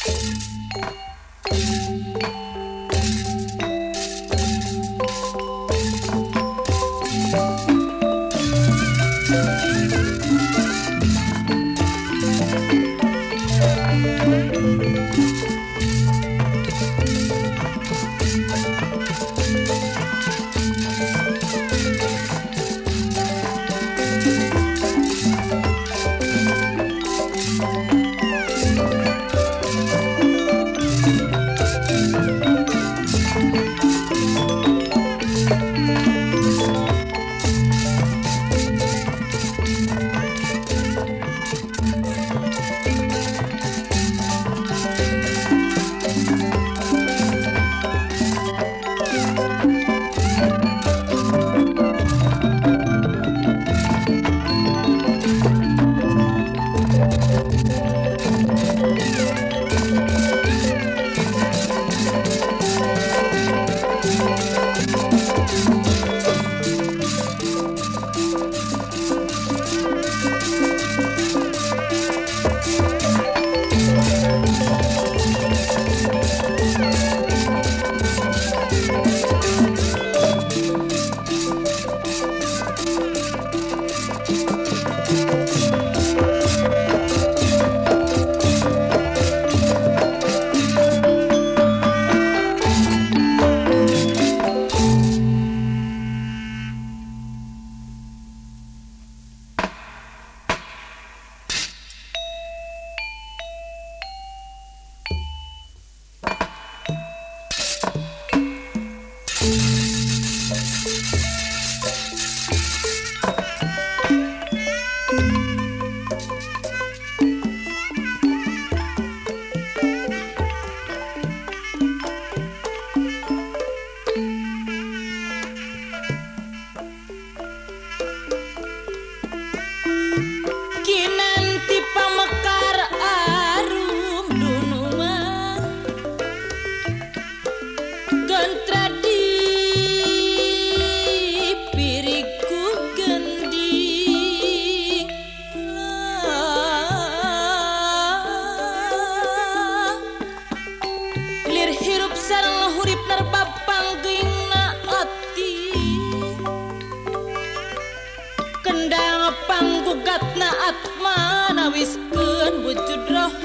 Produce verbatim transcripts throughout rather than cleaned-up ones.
panggugatna atma nawiskeun wujud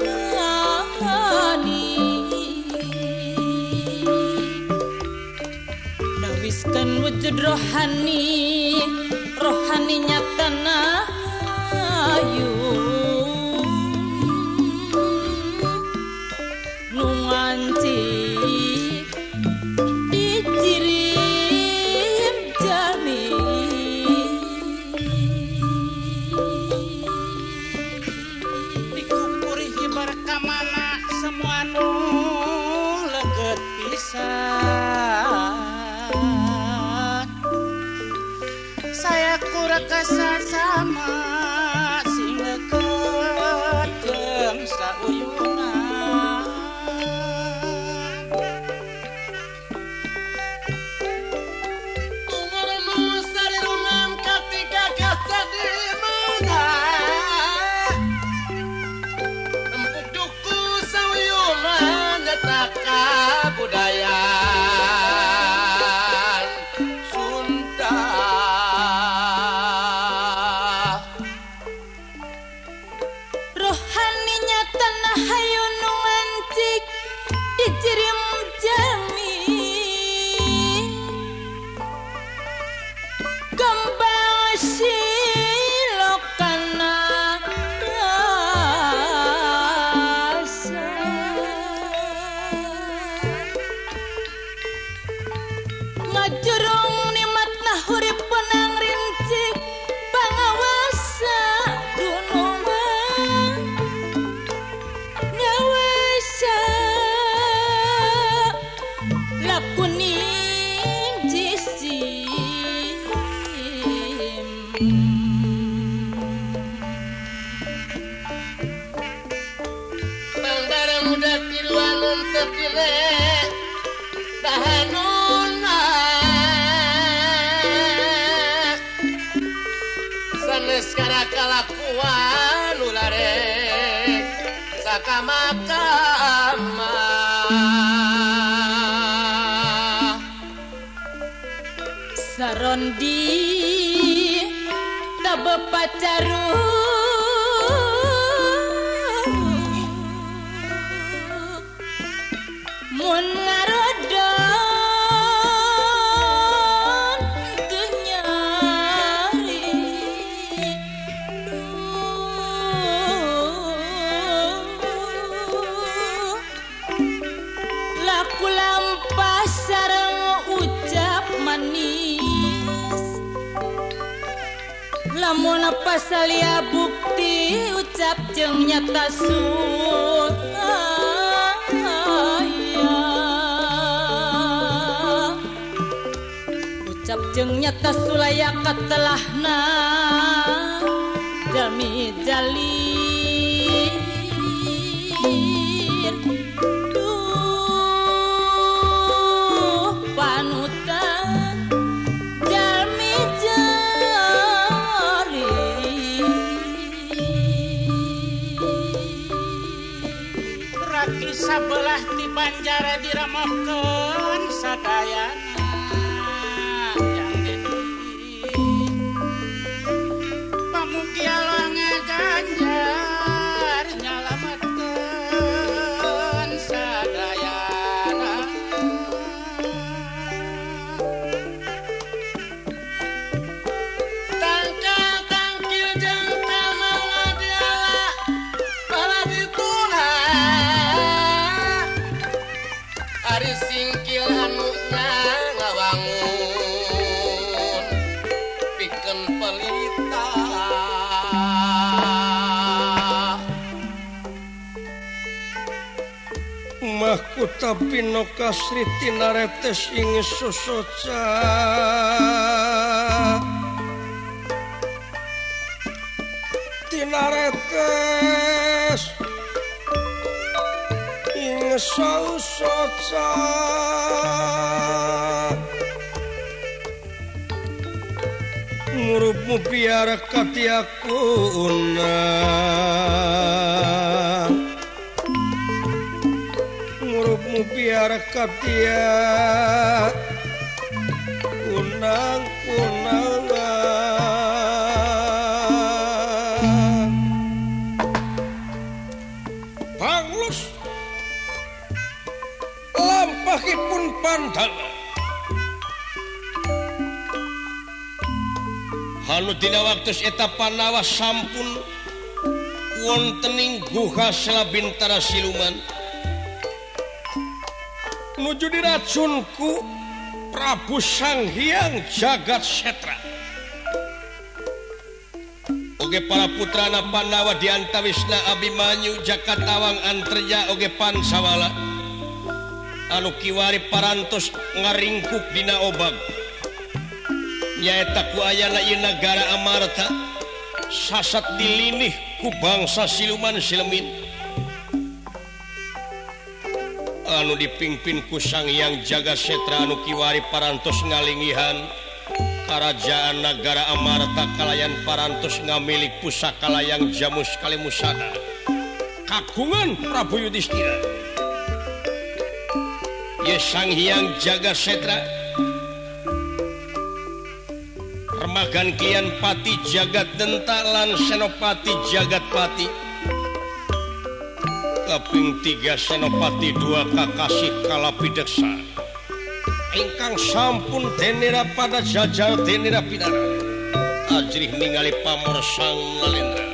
rohani nawiskeun wujud rohani rohani nyatana ayu nu ngancik dikirim jami dikupuri berkamana semua nu leget pisan saya kurakasa sama sing leget jeung sauyunan umur nu sarirungan katika kasa di mana empuk duku sauyunan nyataka budaya kalakuan ularek sakamaka sarondi tabe pacaru mun ngarodon dunyari laku lampas sareng ucap manis lamun pasalia bukti ucap jeung nyata sun ucap jeung nyata sulaya katelahna jalmi jalin duh panutan jalmi jalin raki sabelah ti Banjara diramokeun sadayana pamugia longe ganjar nyalametkeun sadayana tangkal tangkil jeung kamangga diala para dituna ari singkil anu ngawangun pikeun pelita mahkuta pinoka sri tinaretes ing susoca tinaretes ing susoca ngurupmu biar katiakuna ngurupmu biar katia kunang kunangan panglus lampahipun Pandhawa anu dina waktu eta Pandawa sampun wontening guha salabintara siluman nuju diracunku Prabu Sanghyang Jagatsetra oge para putrana Pandawa diantawisna Abimanyu Jakatawang Antarja oge Pansawala anu kiwari parantos ngaringkuk dina obag nyaeta ku ayana ieu nagara Amarta sasat dilinih ku bangsa siluman silemin anu dipingpin ku Sanghyang Jagatsetra anu kiwari parantos ngalingihan karajaan nagara Amarta kalayan parantos ngamilik pusaka layang jamus kalimusana kagungan Prabu Yudhistira ye Sanghyang Jagatsetra remagan kian pati jagat denta lan senopati jagatpati kaping tiga senopati dua kakasih kalapideksa ingkang sampun denira pada jajal denira pidara ajrih ningali pamor sang Nalendra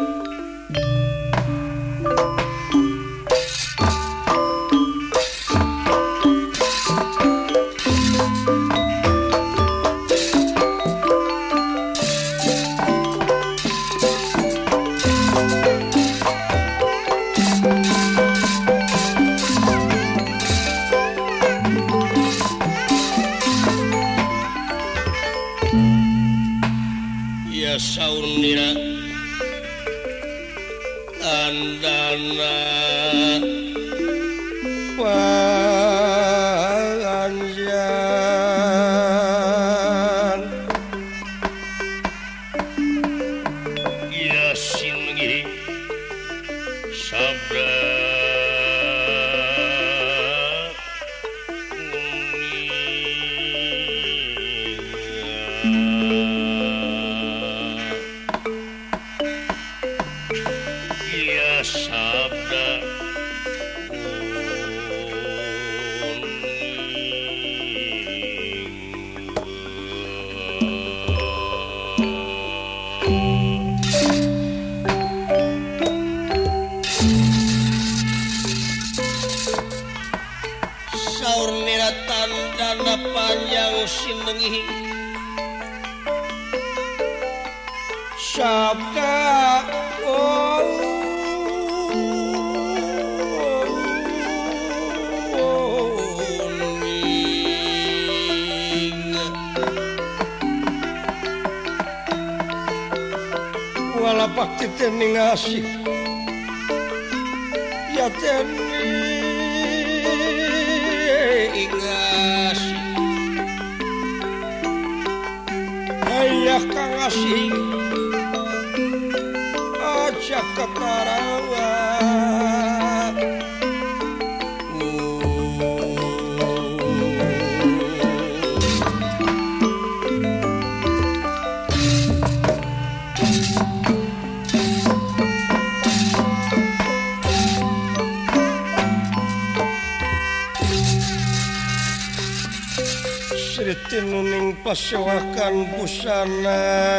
saurnira andana panganjan ya singi sabda sabda saur niratan dana panjang sinengi sabda oh, wala bakti tening asik ya tening asik ayah kang asik aja ketarawa Sriti nuning pasewakan busana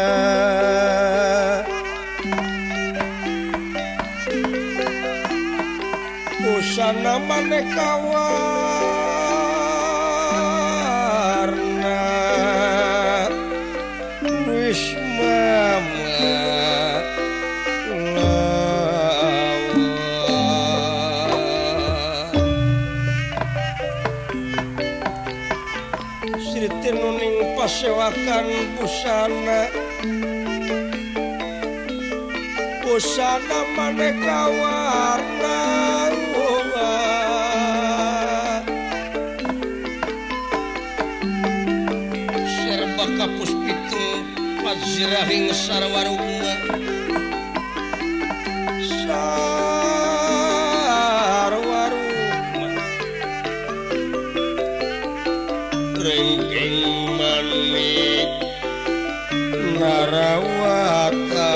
busana maneka warna wis mama Sriti nuning pasewakan busana busana maneka warna serba kapus pitung pajrahing sarwaruma sarwaruma rengking manik narawata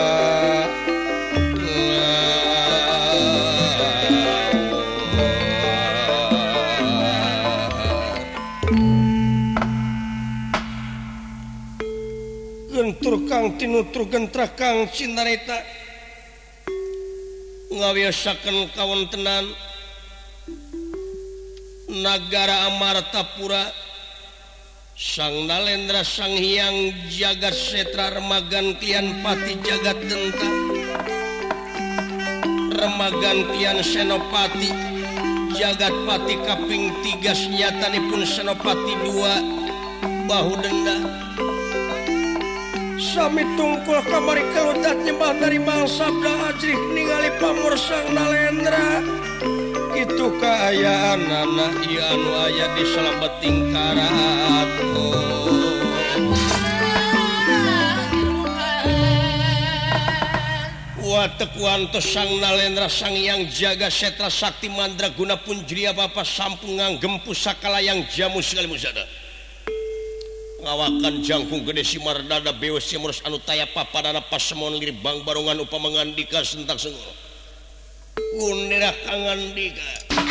gentur kang tinutur gentrah kang cinareta ngawiyosaken kawontenan nagara Amartapura Sang Nalendra Sang Hyang Jagat Setra Remagan Tian Pati Jagat Denta Remagan Tian Senopati Jagat Pati kaping tiga senyatanipun Senopati dua Bahu Denda sami tungkul kamari keludat nyembah narimal sabda ajrih ningali pamor Sang Nalendra itu kaayaan anak ieu anu aya di salabeting karato watek wantos Sang Nalendra Sang Hyang Jaga Setra Sakti Mandraguna Punjriya Bapa sampun nganggem pusakala yang jamu sekali musada ngawakan jangkung gede simardada bewes simurus anu taya papadana pasemon liri bang barongan upamangandika sentak senggol gunirah kangandika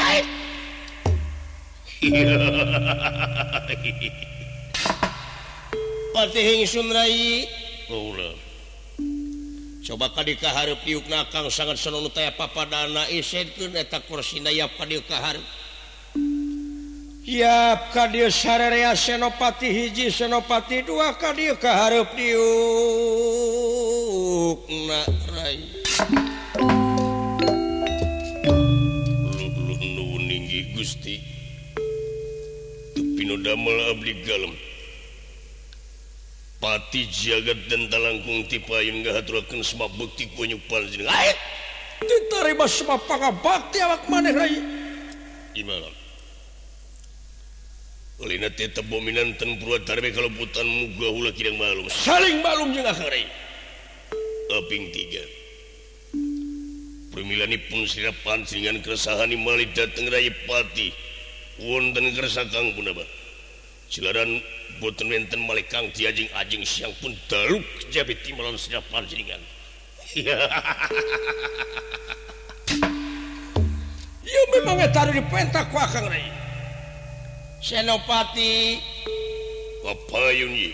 patihing sunrai ulah coba kadi kahareup piukna kang sangat senonu taya papadana isedkeun eta kursina ya kadi kahareup yap kadieu sarerea senopati hiji senopati dua kadieu kahareup diukna rai nuhun ninggi Gusti tepino damel abdi galem pati jagat dan talangkung tipayun ngahaturakeun semua bukti punyuk panjenengan ait ditarima semua pangabakti awak maneh rai imana Lina teta bominan tan purwatarbe kalebutan muga hula kidang malum saling malum jeung akhari aping tiga permilanipun sirapan dengan keresahan imali dateng raya pati wonten kersa kang punaba silaran boten wenten malih kang diajing-ajing siang pun daluk jabe timbalan sirapan jenengan memang eta dipentak ku akang Rai. Senopati papayun ieu.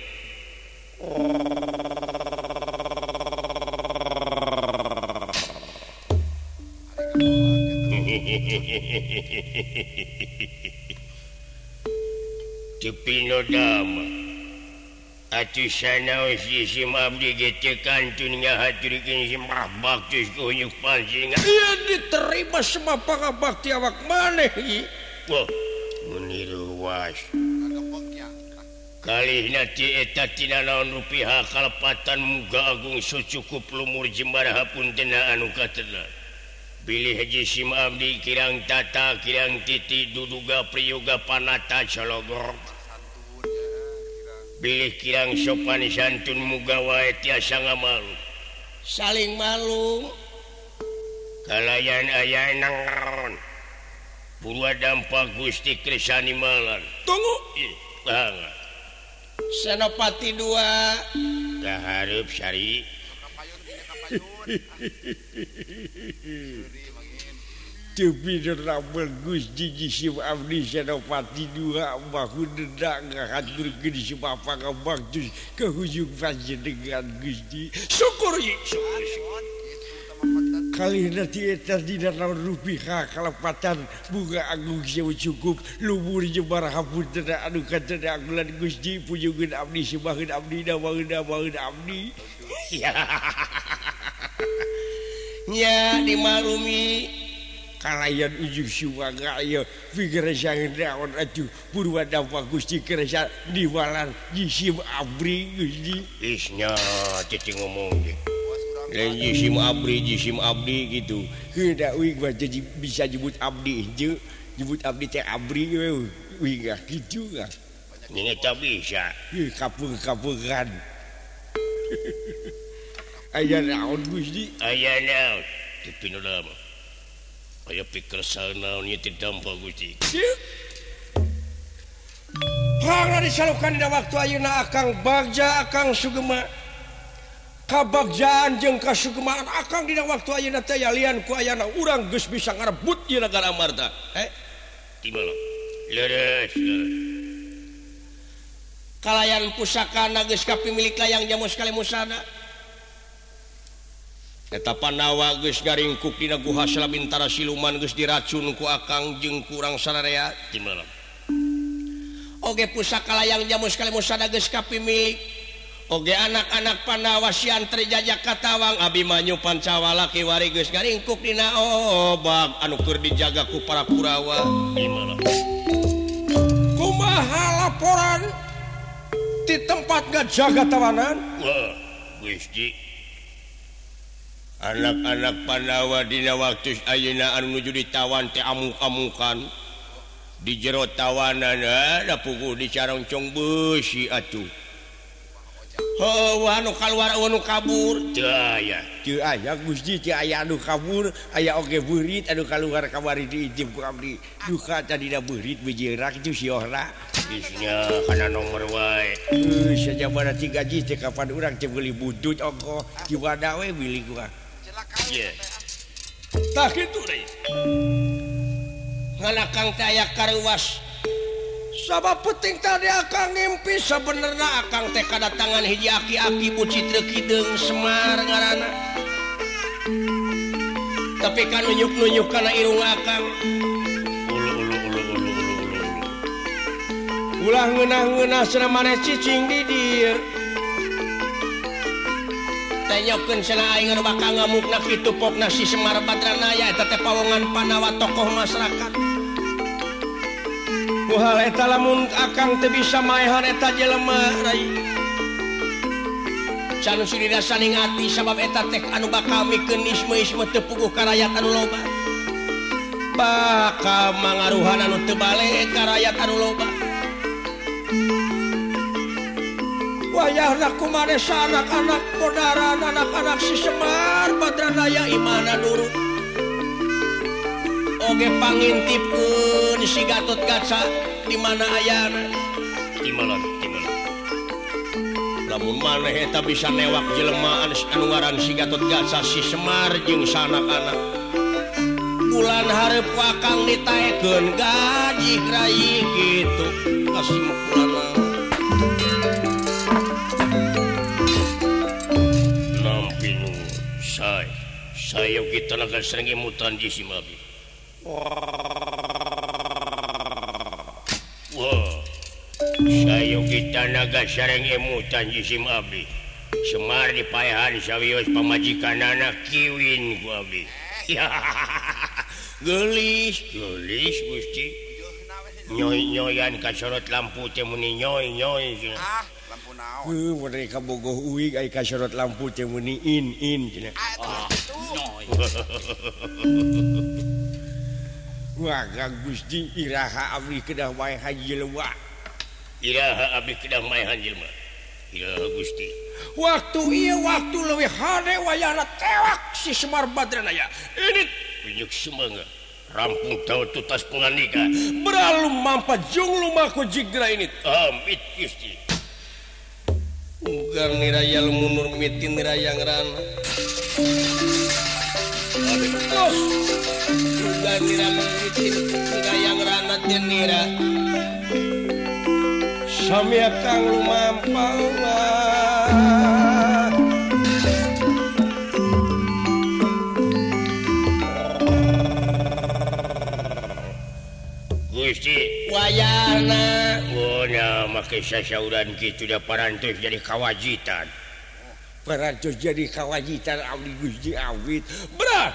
Tepino dama atuh sanaos si abdi ge kantun ngahaturkeun si baktus ku nyuk pancingan ieu diterima semua pangabakti awak maneh ieu. Wah meniru was kalihna ti eta tina naon rupiah kalepatan muga agung sucukup lumur jembaraha puntenna anu katela. Bilih haji sim abdi kirang tata kirang titi duduga priyoga panata calogor. Bilih kirang sopan santun muga wae tiasa ngamalu. Saling malu. Kalayan aya nang Purwa dampak Gusti Kresani malan. Tunggu. Bang. Senopati dua. Kahareup sari. Tapi ramel Gusti Sim abdi Senopati dua bahu dedak ngahaturkeun si Bapak Baktus ka hujung panjenengan Gusti. Syukur ye. Kalihna ti eta dina naon rupiah kalepatan bunga agung sewu cukup lumur jembaraha puntenna anu katena agulan Gusti pujungeun abdi sembahkeun abdi dawaheun dawaheun abdi. Nya dimalumi kalayan ujung suwaga ieu pikir sangeun naon atuh purwa dampak Gusti kerasa diwalan Sim abdi Gusti. Isnya cicing ngomong ge. Lain Sim abdi Sim abdi gitu. Heuda uing mah jadi bisa nyebut abdi heuh. Nyebut abdi teh abdi we uing gah kitu gah. Ning eta bisa. Heuh kapung-kapungan. Aya naon Gusti? Aya naon? Tapi nu lama. Aya pikir sanaon ieu teh dampak Gusti. Hangna disalukan dina waktu ayeuna Akang Bagja Akang Sugema. Kabagjaan jeung kasugemaan Akang dina waktu ayeuna teh lian ku ayana urang geus bisa ngarebut ieu nagara Amarta. Eh? Di mana? Leres. Kalayan pusakana geus kapimilik layang jamu sekali musada. Eta Pandawa geus garingkuk dina guha Salabintara siluman geus diracun ku Akang jeung kurang sararea. Di mana? Oge pusaka layang jamu sekali musada geus kapimilik. Oge anak-anak Pandawa siantri jajak katawang abi manyu Pancawala kiwari geus garingkuk dina obag anu keur dijaga ku para Kurawa. Gimana? Kumaha laporan di tempat ngajaga tawanan? Wah, Gusti. Anak-anak Pandawa dina waktu ayeuna anu nuju ditawan teh amuk-amukan. Di jero tawanan ada puguh di carongcong beusi atuh. Oh, anu kaluar anu kabur teu aya teu aya Gusti teu aya anu kabur aya oge beurit anu kaluar kamari diijib ku abdi duka tadina beurit bejerak itu siohna geusnya kana nomor wae euy sajabana tiga ji teh kapan urang teh beuli budut ongko jiwada we bili gua ieu tah kitu deui ngan Akang teh aya karuwas. Sabab penting tadi Akang ngimpi sebenarnya Akang teh kadatangan hiji aki-aki Bucitra Kideung Semar ngaranna. Tapi kan nunjuk-nunjuk kana irung Akang. Ulu ulu ulu ulu ulu ulu. Ulah ngeunah-ngeunah cenah maneh cicing di dieu. Teh nyokeun cenah aing anu bakal ngamukna kitu popna si Semar Badranaya eta teh pawongan Pandawa tokoh masyarakat. Hal eta lamun Akang teu bisa maehan eta jelema rai. Can sudina saling ati sabab eta teh anu bakal mikeun isme-isme teu puguh ka rakyat anu loba. Bakal mangaruhan anu teu bale ka rakyat anu loba. Wayahna kumaneh anak-anak podaran anak-anak si Semar Badranaya imana nurut. Oge pangintipkeun si Gatotkaca di mana ayana? Di mana? Di mana? Lamun maneh eta bisa newak jelema anu ngaran si Gatotkaca si Semar jeung sanak-anak. bulan hareup wakang ditaekeun gaji rai kitu kasimpulanna nampi nu say saya kita naga sering emutan di Simabi wah saya kita naga sering emutan di Simabi Semar dipayahan sawios pamajikan anak kiwin ku abdi. Gelis, gelis Gusti. Nyoy-nyoyan ka sorot lampu teh muni nyoy-nyoy. Ah, lampu naon? Heuh, mereka bogoh uig ai ka sorot lampu teh muni in-in cenah. Ah, nyoy. Wah, Gusti iraha abdi kedah wae haji jelema. Iraha abdi kedah wae haji jelema. Iraha Gusti. Waktu iya waktu leuwih hade wayahna tewak si Semar Badrana ya. Ini unjuk semangat. Rampung tahu tutas penganika. Beralum mampa jung lumaku jigra ini. Amit Gusti. Ugar niraya lumunur mitin niraya ngerana. Adik bos. Ugar niraya mitin niraya ngerana dan nira. Sami akang lumampang Gusti wayana oh nya make sasauran kitu da parantos jadi kawajitan parantos jadi kawajitan abdi Gusti awit berat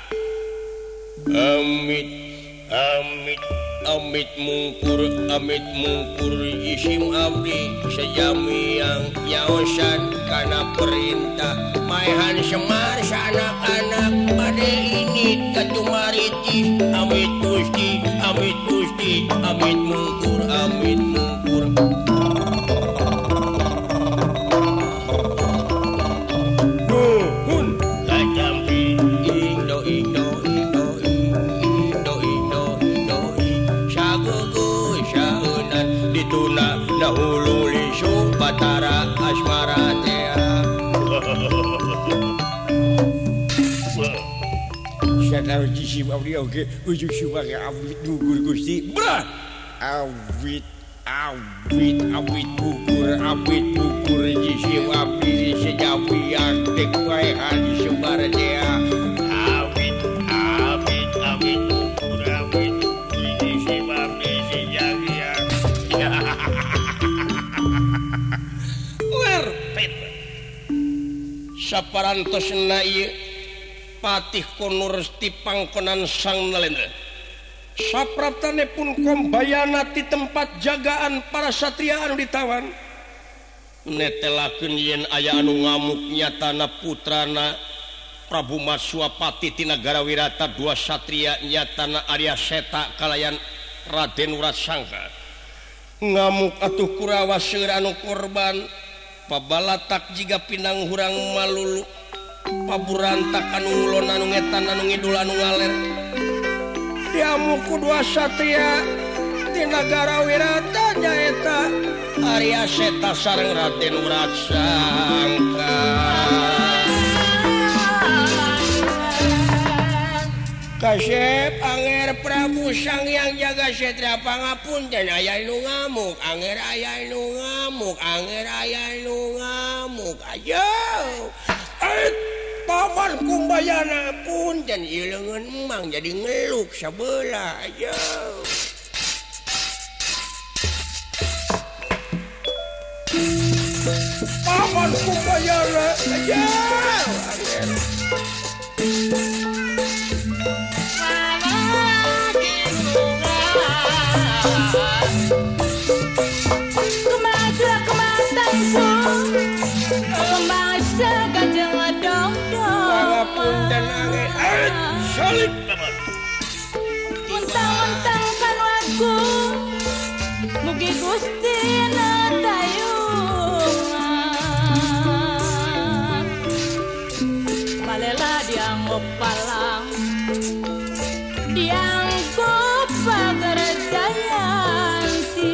amit amit amit mungkur amit mungkur isim abdi sejami yang nyaosan kana perintah maehan Semar sanak-anak bade ini katumaritis amit Gusti amit Gusti amit mungkur amit mungkur nuhun kajampi indo indo indo indo indo indo sagugu saunan dituna dahulu lisung batara asmara tea Sadar jisi abdi oge ujuk sebagai awit gugur Gusti berat awit awit awit gugur awit gugur jisi abdi sejawi yang tek wae hadi Semar dia awit awit awit gugur awit gugur jisi abdi sejawi yang lerpet saparantosna ieu Patih Konursti pangkonan sang Nalendra sapraptane pun kombayana ti tempat jagaan para satria anu ditawan netelakeun yen aya anu ngamuk nyatana putrana Prabu Maswapati ti nagara Wirata dua satria nyatana Arya Seta kalayan Raden Wratsangka ngamuk atuh Kurawa seueur anu korban pabalatak jiga pinang hurang malulu paburantak anu ngulon anu ngetan anu ngidul anu ngaler diamuku dua satria di nagara Wirata nyaeta Arya Seta sareng Raden Wratsangka Kasep Anger Prabu Sanghyang Jagasatra pangapunten aya nu ngamuk Anger aya nu ngamuk Anger aya nu ngamuk ayo paman kumbayana punten ileungeun emang jadi ngeluk sabeula ayo paman kumbayana ayo Kemana kematanku kembang segajeng dong pangapunten Anger eh salib paman mentang-mentang kan aku mugi Gusti natayungan malela dianggap palang dianggap pagerjayanti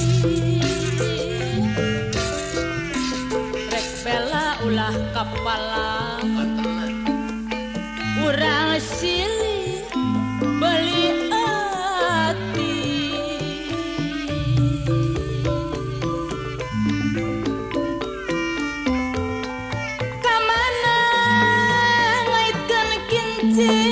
rek bela ulah kapalang urang silih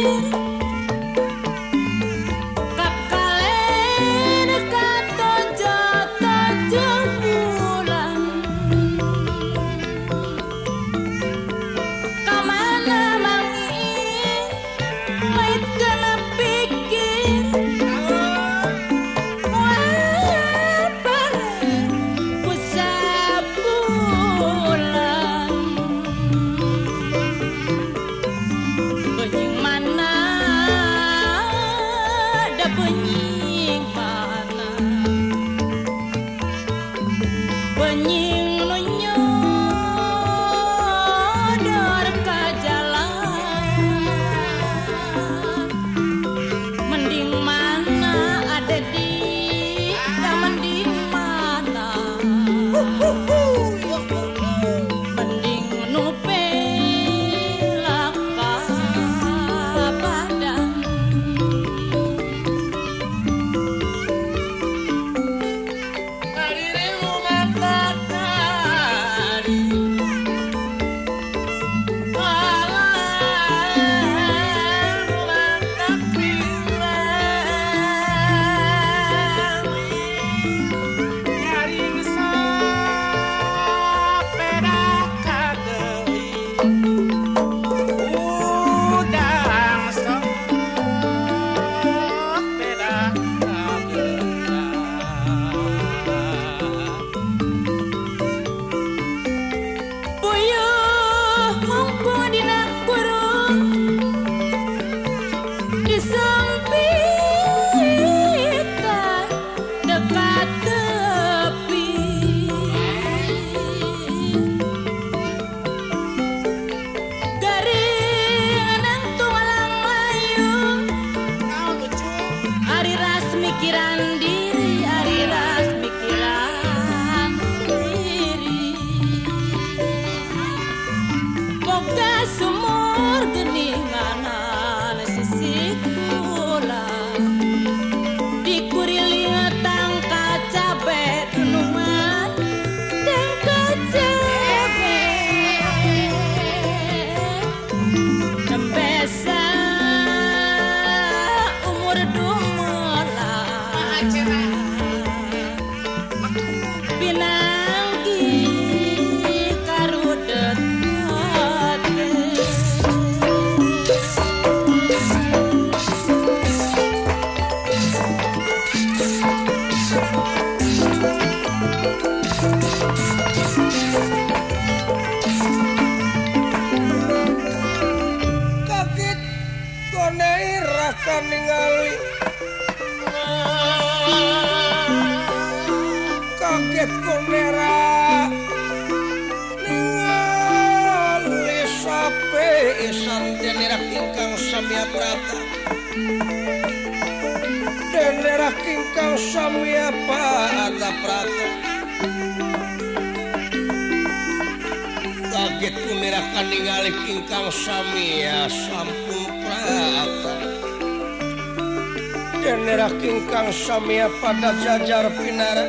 Samia pada jajar pinara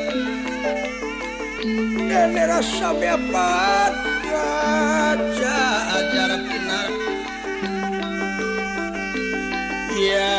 Denera samia pada jajar pinara ya